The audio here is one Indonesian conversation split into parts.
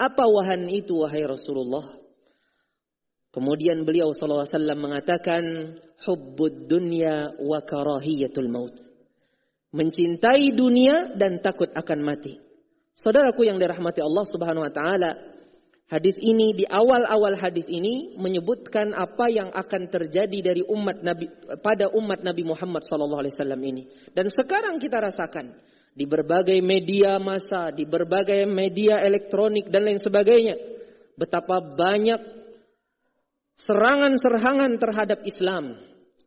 Apa wahan itu wahai Rasulullah? Kemudian beliau sallallahu alaihi wasallam mengatakan, hubbud dunya wa karahiyatul maut. Mencintai dunia dan takut akan mati. Saudaraku yang dirahmati Allah Subhanahu wa taala, hadis ini, di awal-awal hadis ini menyebutkan apa yang akan terjadi dari umat Nabi pada umat Nabi Muhammad sallallahu alaihi wasallam ini. Dan sekarang kita rasakan di berbagai media massa, di berbagai media elektronik dan lain sebagainya, betapa banyak serangan-serangan terhadap Islam.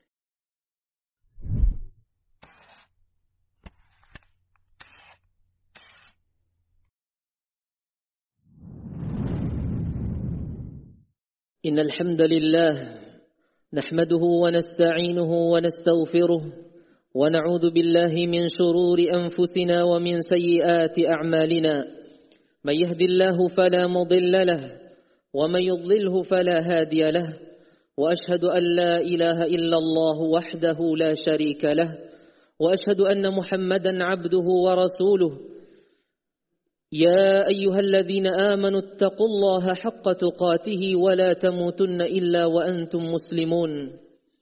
Innal hamdalillah nahmaduhu wa nasta'inuhu wa nastaghfiruh ونعوذ بالله من شرور أنفسنا ومن سيئات أعمالنا من يهد الله فلا مضل له ومن يضلله فلا هادي له وأشهد أن لا إله إلا الله وحده لا شريك له وأشهد أن محمدا عبده ورسوله يا أيها الذين آمنوا اتقوا الله حق تقاته ولا تموتن إلا وأنتم مسلمون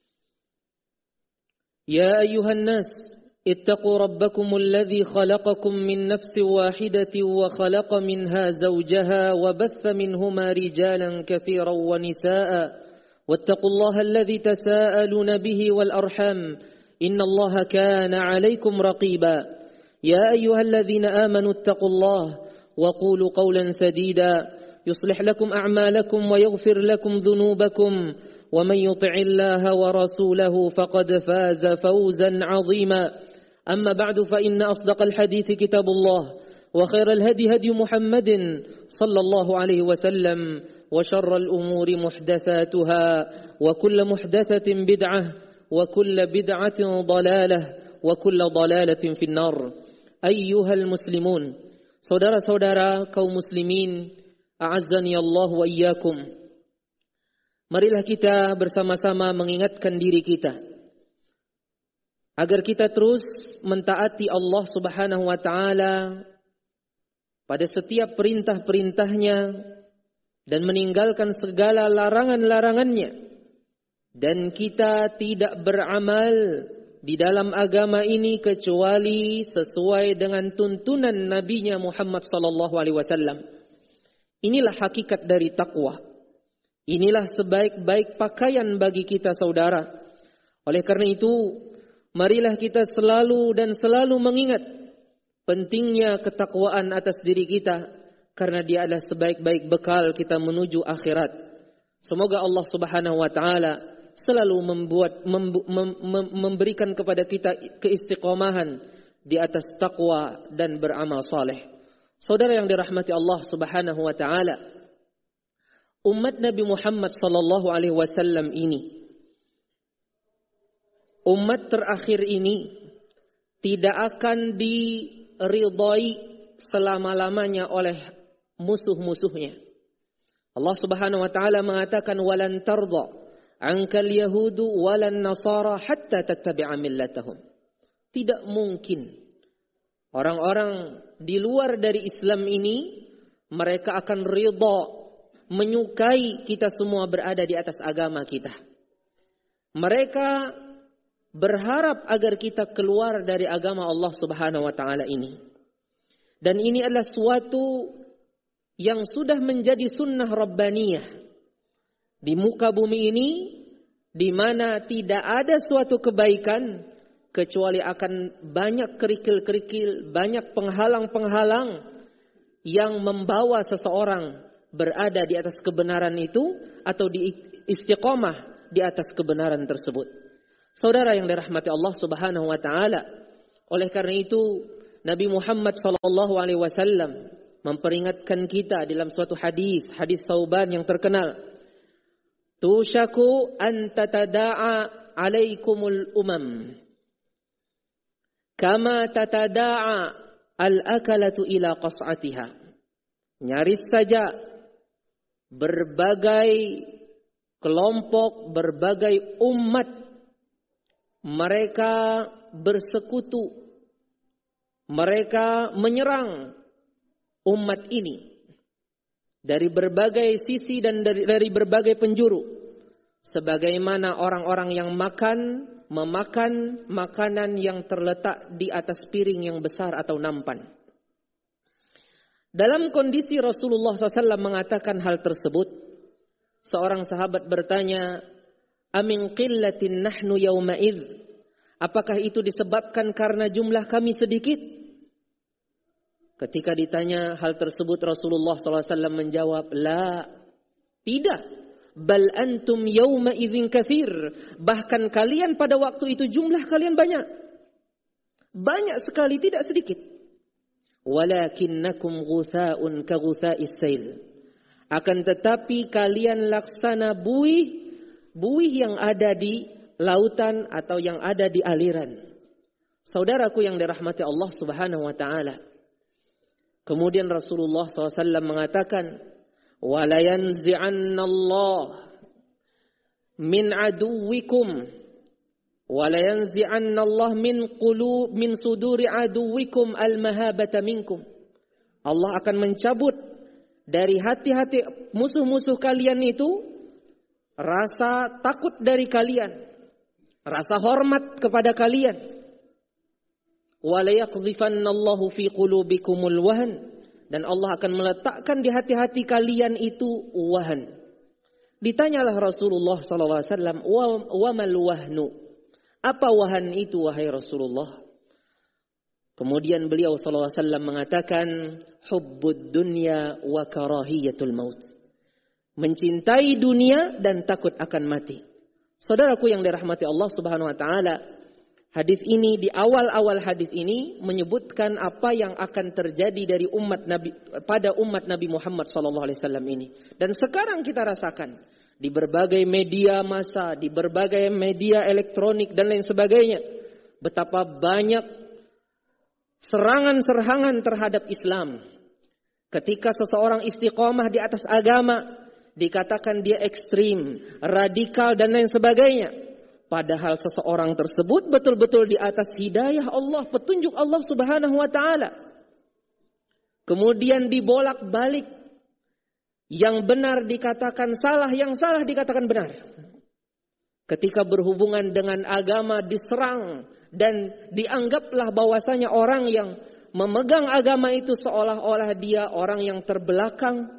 يا أيها الناس اتقوا ربكم الذي خلقكم من نفس واحدة وخلق منها زوجها وبث منهما رجالا كثيرا ونساء واتقوا الله الذي تساءلون به والأرحام إن الله كان عليكم رقيبا يا أيها الذين آمنوا اتقوا الله وقولوا قولا سديدا يصلح لكم أعمالكم ويغفر لكم ذنوبكم ومن يطع الله ورسوله فقد فاز فوزا عظيما أما بعد فإن أصدق الحديث كتاب الله وخير الهدي هدي محمد صلى الله عليه وسلم وشر الأمور محدثاتها وكل محدثة بدعة وكل بدعة ضلالة وكل ضلالة في النار أيها المسلمون saudara-saudara kaum muslimin a'azzani Allah wa iyyakum. Marilah kita bersama-sama mengingatkan diri kita agar kita terus mentaati Allah Subhanahu wa taala pada setiap perintah-perintahnya dan meninggalkan segala larangan-larangannya, dan kita tidak beramal di dalam agama ini kecuali sesuai dengan tuntunan Nabi-Nya Muhammad sallallahu alaihi wasallam. Inilah hakikat dari takwa. Inilah sebaik-baik pakaian bagi kita saudara. Oleh karena itu, marilah kita selalu mengingat pentingnya ketakwaan atas diri kita, karena dia adalah sebaik-baik bekal kita menuju akhirat. Semoga Allah Subhanahu wa taala selalu memberikan kepada kita keistiqomahan di atas takwa dan beramal saleh. Saudara yang dirahmati Allah Subhanahu wa taala, umat Nabi Muhammad sallallahu alaihi wasallam ini, umat terakhir ini, tidak akan diridhai selama-lamanya oleh musuh-musuhnya. Allah Subhanahu wa taala mengatakan, walan tardha ankal yahudu walan nasara hatta tattabi'a millatahum. Tidak mungkin orang-orang di luar dari Islam ini mereka akan ridha, menyukai kita semua berada di atas agama kita. Mereka berharap agar kita keluar dari agama Allah Subhanahu wa taala ini. Dan ini adalah suatu yang sudah menjadi sunnah rabbaniyah di muka bumi ini, di mana tidak ada suatu kebaikan kecuali akan banyak kerikil-kerikil, banyak penghalang-penghalang yang membawa seseorang berada di atas kebenaran itu atau di istiqomah di atas kebenaran tersebut. Saudara yang dirahmati Allah Subhanahu wa taala, oleh karena itu Nabi Muhammad sallallahu alaihi wasallam memperingatkan kita dalam suatu hadis Thauban yang terkenal, tushaku an tatada'a alaikumul umam kama tatada'a al-akalatu ila qas'atiha. Nyaris saja berbagai kelompok, berbagai umat, mereka bersekutu, mereka menyerang umat ini dari berbagai sisi dan dari berbagai penjuru, sebagaimana orang-orang yang memakan makanan yang terletak di atas piring yang besar atau nampan. Dalam kondisi Rasulullah SAW mengatakan hal tersebut, seorang sahabat bertanya, "Amin qillatin nahnu yawma'idh?" Apakah itu disebabkan karena jumlah kami sedikit? Ketika ditanya hal tersebut, Rasulullah SAW menjawab, "La, tidak. Bal antum yawma idzin katsir." Bahkan kalian pada waktu itu jumlah kalian banyak. Banyak sekali, tidak sedikit. Walakinnakum ghutha'un ka ghutha'is sail. Akan tetapi kalian laksana buih yang ada di lautan atau yang ada di aliran. Saudaraku yang dirahmati Allah Subhanahu wa taala. Kemudian Rasulullah SAW mengatakan, "Wala yanzi'anna Allah min aduwikum, wala yanzi'anna Allah min suduri aduwikum al-mahabata minkum." Allah akan mencabut dari hati-hati musuh-musuh kalian itu rasa takut dari kalian, rasa hormat kepada kalian. Wala yaqdhifanna Allahu fi qulubikumul wahn, dan Allah akan meletakkan di hati-hati kalian itu wahan. Ditanyalah Rasulullah sallallahu alaihi wasallam, "Wa mal wahnu?" Apa wahan itu wahai Rasulullah? Kemudian beliau sallallahu alaihi wasallam mengatakan, "Hubbud dunya wa karahiyatul maut." Mencintai dunia dan takut akan mati. Saudaraku yang dirahmati Allah Subhanahu wa taala, hadis ini, di awal-awal hadis ini menyebutkan apa yang akan terjadi dari umat Nabi pada umat Nabi Muhammad sallallahu alaihi wasallam ini. Dan sekarang kita rasakan di berbagai media massa, di berbagai media elektronik dan lain sebagainya, betapa banyak serangan-serangan terhadap Islam. Ketika seseorang istiqomah di atas agama, dikatakan dia ekstrim, radikal dan lain sebagainya. Padahal seseorang tersebut betul-betul di atas hidayah Allah, petunjuk Allah Subhanahu wa taala. Kemudian dibolak-balik, yang benar dikatakan salah, yang salah dikatakan benar. Ketika berhubungan dengan agama diserang dan dianggaplah bahwasanya orang yang memegang agama itu seolah-olah dia orang yang terbelakang,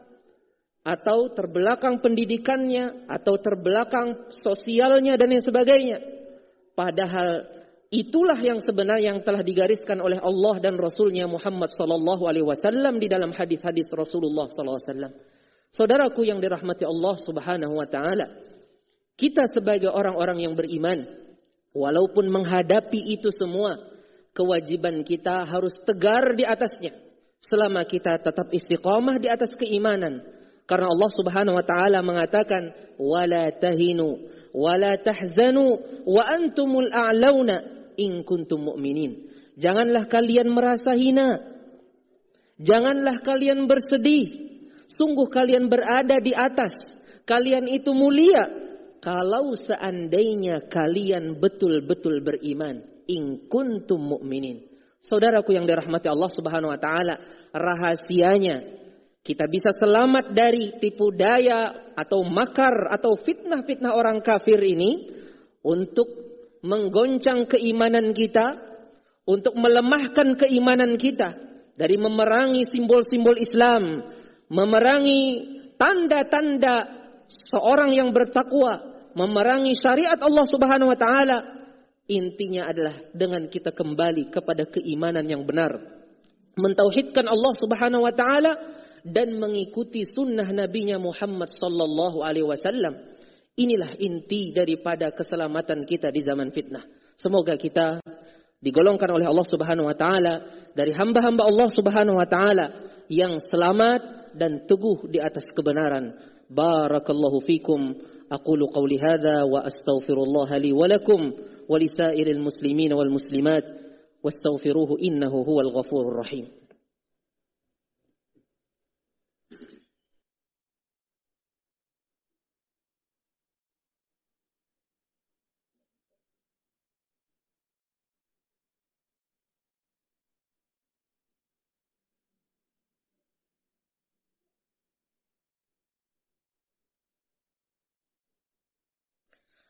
atau terbelakang pendidikannya, atau terbelakang sosialnya dan lain sebagainya. Padahal itulah yang sebenarnya yang telah digariskan oleh Allah dan Rasulnya Muhammad sallallahu alaihi wasallam di dalam hadis-hadis Rasulullah sallallahu alaihi wasallam. Saudaraku yang dirahmati Allah Subhanahu wa taala, kita sebagai orang-orang yang beriman, walaupun menghadapi itu semua, kewajiban kita harus tegar di atasnya selama kita tetap istiqamah di atas keimanan. Karena Allah Subhanahu wa taala mengatakan, "Wala tahinu wala tahzanu wa antumul a'launa in kuntum mu'minin." Janganlah kalian merasa hina. Janganlah kalian bersedih. Sungguh kalian berada di atas. Kalian itu mulia kalau seandainya kalian betul-betul beriman. In kuntum mu'minin. Saudaraku yang dirahmati Allah Subhanahu wa taala, rahasianya kita bisa selamat dari tipu daya atau makar atau fitnah-fitnah orang kafir ini untuk menggoncang keimanan kita, untuk melemahkan keimanan kita dari memerangi simbol-simbol Islam, memerangi tanda-tanda seorang yang bertakwa, memerangi syariat Allah Subhanahu wa taala. Intinya adalah dengan kita kembali kepada keimanan yang benar, mentauhidkan Allah Subhanahu wa taala dan mengikuti sunnah Nabi-Nya Muhammad sallallahu alaihi wasallam. Inilah inti daripada keselamatan kita di zaman fitnah. Semoga kita digolongkan oleh Allah Subhanahu wa taala dari hamba-hamba Allah Subhanahu wa taala yang selamat dan teguh di atas kebenaran. Barakallahu fikum. Aqulu qawli hadza wa astaghfirullah li wa lakum wa lisairil muslimin wal muslimat wastaghfiruhu innahu huwal ghafurur rahim.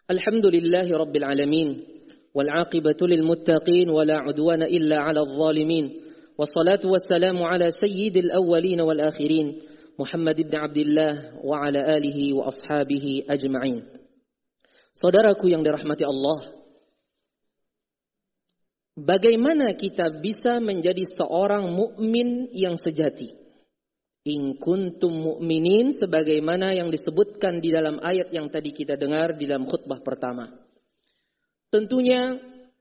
Alhamdulillahi Rabbil Alamin. Wal'aqibatu lil muttaqin wa la udwana illa 'alal zalimin. Wassalatu wassalamu ala sayyidil awwalin wal akhirin, Muhammad ibn Abdullah wa ala alihi wa ashabihi ajma'in. Saudaraku yang dirahmati Allah, bagaimana kita bisa menjadi seorang mukmin yang sejati? In kuntum mu'minin, sebagaimana yang disebutkan di dalam ayat yang tadi kita dengar di dalam khutbah pertama. Tentunya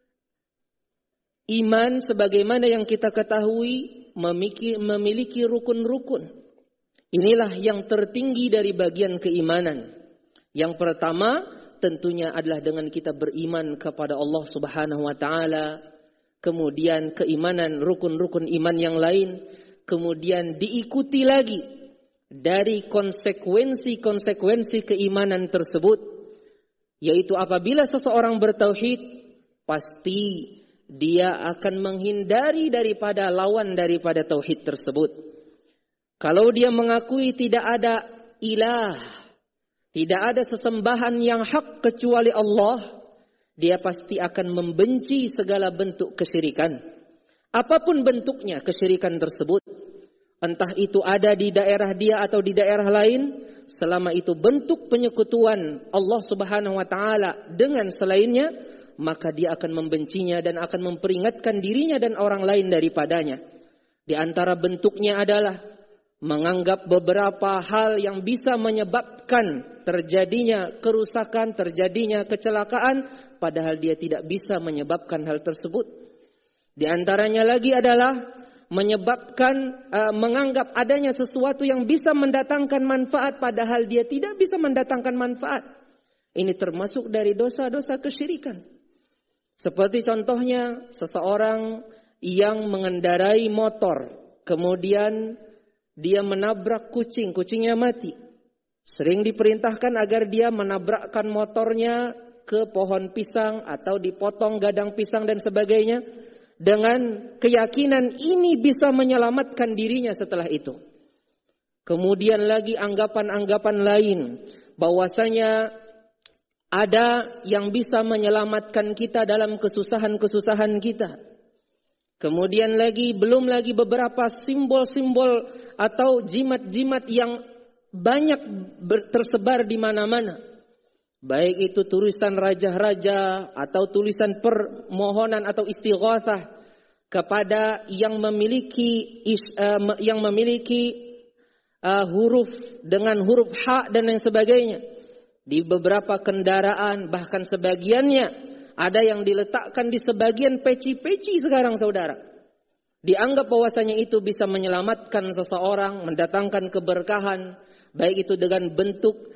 iman sebagaimana yang kita ketahui memiliki rukun-rukun. Inilah yang tertinggi dari bagian keimanan. Yang pertama tentunya adalah dengan kita beriman kepada Allah Subhanahu wa taala, kemudian keimanan rukun-rukun iman yang lain, kemudian diikuti lagi dari konsekuensi-konsekuensi keimanan tersebut, yaitu apabila seseorang bertauhid, pasti dia akan menghindari daripada lawan daripada tauhid tersebut. Kalau dia mengakui tidak ada ilah, tidak ada sesembahan yang hak kecuali Allah, dia pasti akan membenci segala bentuk kesyirikan. Apapun bentuknya kesyirikan tersebut, entah itu ada di daerah dia atau di daerah lain, selama itu bentuk penyekutuan Allah Subhanahu wa taala dengan selainnya, maka dia akan membencinya dan akan memperingatkan dirinya dan orang lain daripadanya. Di antara bentuknya adalah menganggap beberapa hal yang bisa menyebabkan terjadinya kerusakan, terjadinya kecelakaan, padahal dia tidak bisa menyebabkan hal tersebut. Di antaranya lagi adalah menganggap adanya sesuatu yang bisa mendatangkan manfaat, padahal dia tidak bisa mendatangkan manfaat. Ini termasuk dari dosa-dosa kesyirikan. Seperti contohnya seseorang yang mengendarai motor, kemudian dia menabrak kucing, kucingnya mati. Sering diperintahkan agar dia menabrakkan motornya ke pohon pisang atau dipotong gadang pisang dan sebagainya, dengan keyakinan ini bisa menyelamatkan dirinya setelah itu. Kemudian lagi anggapan-anggapan lain bahwasanya ada yang bisa menyelamatkan kita dalam kesusahan-kesusahan kita. Kemudian lagi belum lagi beberapa simbol-simbol atau jimat-jimat yang banyak tersebar di mana-mana. Baik itu tulisan raja-raja atau tulisan permohonan atau istighatsah kepada yang memiliki huruf dengan huruf ha dan lain sebagainya. Di beberapa kendaraan bahkan sebagiannya ada yang diletakkan di sebagian peci-peci sekarang, saudara. Dianggap bahwasanya itu bisa menyelamatkan seseorang, mendatangkan keberkahan, baik itu dengan bentuk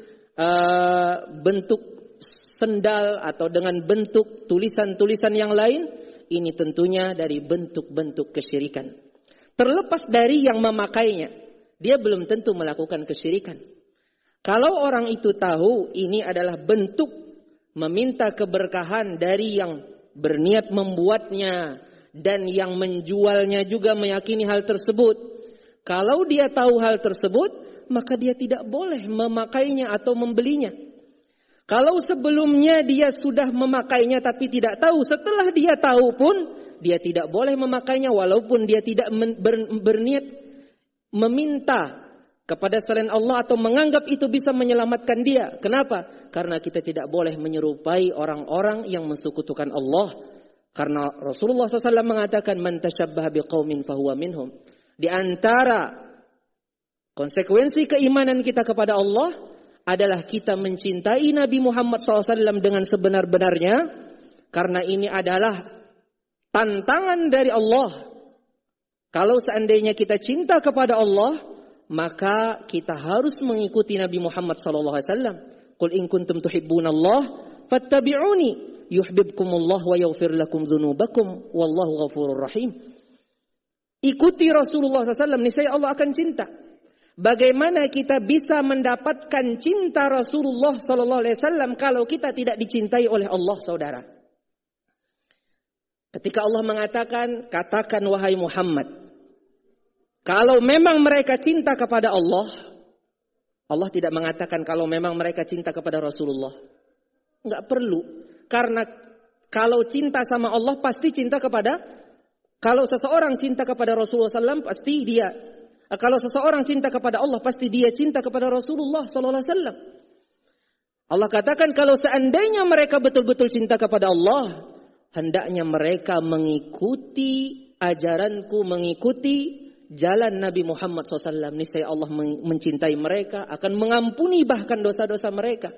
sendal atau dengan bentuk tulisan-tulisan yang lain. Ini tentunya dari bentuk-bentuk kesyirikan. Terlepas dari yang memakainya, dia belum tentu melakukan kesyirikan. Kalau orang itu tahu ini adalah bentuk meminta keberkahan dari yang berniat membuatnya dan yang menjualnya juga meyakini hal tersebut, kalau dia tahu hal tersebut, maka dia tidak boleh memakainya atau membelinya. Kalau sebelumnya dia sudah memakainya tapi tidak tahu, setelah dia tahu pun dia tidak boleh memakainya walaupun dia tidak berniat meminta kepada selain Allah atau menganggap itu bisa menyelamatkan dia. Kenapa? Karena kita tidak boleh menyerupai orang-orang yang mensekutukan Allah. Karena Rasulullah SAW mengatakan, "Man tashabbaha biqaumin fahuwa minhum." Di antara konsekuensi keimanan kita kepada Allah adalah kita mencintai Nabi Muhammad SAW dengan sebenar-benarnya, karena ini adalah tantangan dari Allah. Kalau seandainya kita cinta kepada Allah, maka kita harus mengikuti Nabi Muhammad SAW. Qul in kuntum tuhibbunallah fattabi'uni yuhibbukumullah wa yaghfir lakum dzunubakum wallahu ghafurur rahim. Ikuti Rasulullah SAW, niscaya Allah akan cinta. Bagaimana kita bisa mendapatkan cinta Rasulullah SAW kalau kita tidak dicintai oleh Allah, saudara? Ketika Allah mengatakan, katakan wahai Muhammad, kalau memang mereka cinta kepada Allah, Allah tidak mengatakan kalau memang mereka cinta kepada Rasulullah. Enggak perlu. Karena kalau cinta sama Allah pasti cinta kepada, kalau seseorang cinta kepada Rasulullah SAW pasti dia, kalau seseorang cinta kepada Allah pasti dia cinta kepada Rasulullah SAW. Allah katakan kalau seandainya mereka betul-betul cinta kepada Allah, hendaknya mereka mengikuti ajaranku, mengikuti jalan Nabi Muhammad SAW. Niscaya Allah mencintai mereka, akan mengampuni bahkan dosa-dosa mereka.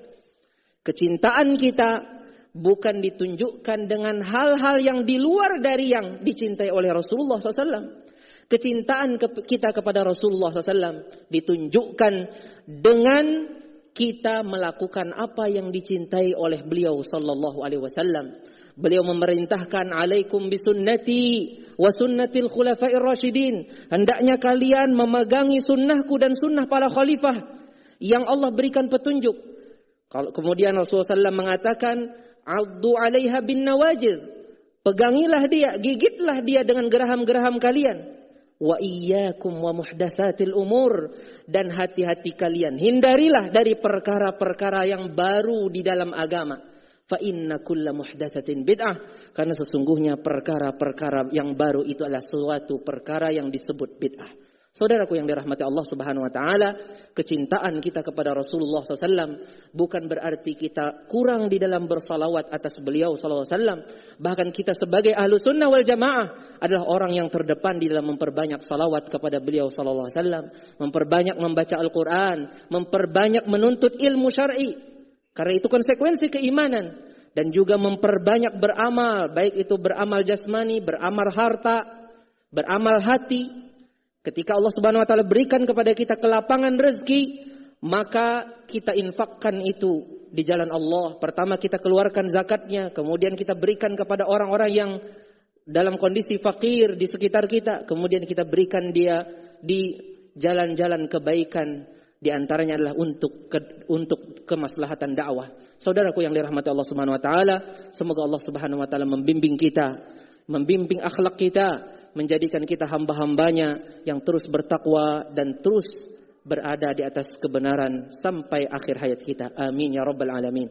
Kecintaan kita bukan ditunjukkan dengan hal-hal yang di luar dari yang dicintai oleh Rasulullah SAW. Kecintaan kita kepada Rasulullah SAW ditunjukkan dengan kita melakukan apa yang dicintai oleh beliau sallallahu alaihi wasallam. Beliau memerintahkan alaikum bisunnati wa sunnatil khulafair rasyidin. Hendaknya kalian memegangi sunnahku dan sunnah para khalifah yang Allah berikan petunjuk. Kalau kemudian Rasulullah SAW mengatakan addu 'alaiha bin nawajid. Pegangilah dia, gigitlah dia dengan geraham-geraham kalian. Wa iyyakum wa muhdatsatil umur, dan hati-hati kalian hindarilah dari perkara-perkara yang baru di dalam agama. Fa inna kulla muhdatsatin bid'ah, karena sesungguhnya perkara-perkara yang baru itu adalah suatu perkara yang disebut bid'ah. Saudaraku yang dirahmati Allah Subhanahu wa taala, kecintaan kita kepada Rasulullah SAW bukan berarti kita kurang di dalam bersalawat atas beliau sallallahu alaihi wasallam. Bahkan kita sebagai ahlu sunnah wal jamaah adalah orang yang terdepan di dalam memperbanyak salawat kepada beliau sallallahu alaihi wasallam, memperbanyak membaca Al-Quran, memperbanyak menuntut ilmu syar'i. Karena itu konsekuensi keimanan, dan juga memperbanyak beramal, baik itu beramal jasmani, beramal harta, beramal hati. Ketika Allah Subhanahu wa taala berikan kepada kita kelapangan rezeki, maka kita infakkan itu di jalan Allah. Pertama kita keluarkan zakatnya, kemudian kita berikan kepada orang-orang yang dalam kondisi fakir di sekitar kita, kemudian kita berikan dia di jalan-jalan kebaikan. Di antaranya adalah untuk kemaslahatan dakwah. Saudaraku yang dirahmati Allah Subhanahu wa taala, semoga Allah Subhanahu wa taala membimbing kita, membimbing akhlak kita, menjadikan kita hamba-hambanya yang terus bertakwa dan terus berada di atas kebenaran sampai akhir hayat kita. Amin ya rabbal alamin.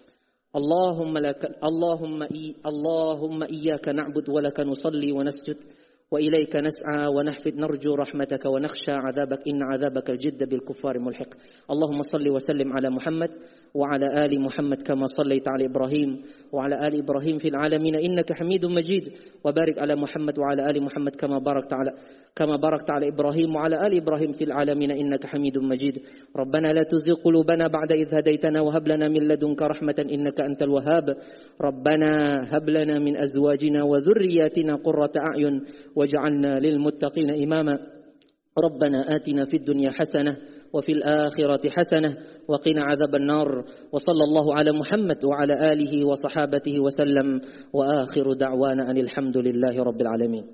Allahumma iyyaka na'budu wa laka nusalli wa nasjud wa ilayka nas'a wa nahfid narju rahmataka wa nakhsha 'adzabak inna 'adzabaka al-jidd bil kuffari mulhiq. Allahumma salli wa sallim ala Muhammad wa ala ali Muhammad kama sallaita ala Ibrahim wa ala ali Ibrahim fil alamin innaka Hamidum Majid, wa barik ala Muhammad wa ala ali Muhammad kama barakta ala Ibrahim wa ala ali Ibrahim fil alamin innaka Hamidum Majid. Rabbana la tuzigh qulubana ba'da idh hadaytana wa hab lana min ladunka rahmatan innaka antal wahhab. Rabbana hab lana min azwajina wa dhurriyyatina qurrata a'yun waj'alna lil muttaqina imama. Rabbana atina fid dunya hasanah وفي الآخرة حسنة وقنا عذاب النار وصلى الله على محمد وعلى آله وصحابته وسلم وآخر دعوانا أن الحمد لله رب العالمين.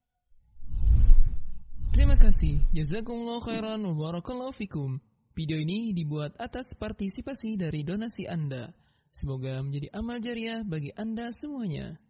Terima kasih. Jazakumullah khairan wa barakallahu fikum. Video ini dibuat atas partisipasi dari donasi Anda. Semoga menjadi amal jariah bagi Anda semuanya.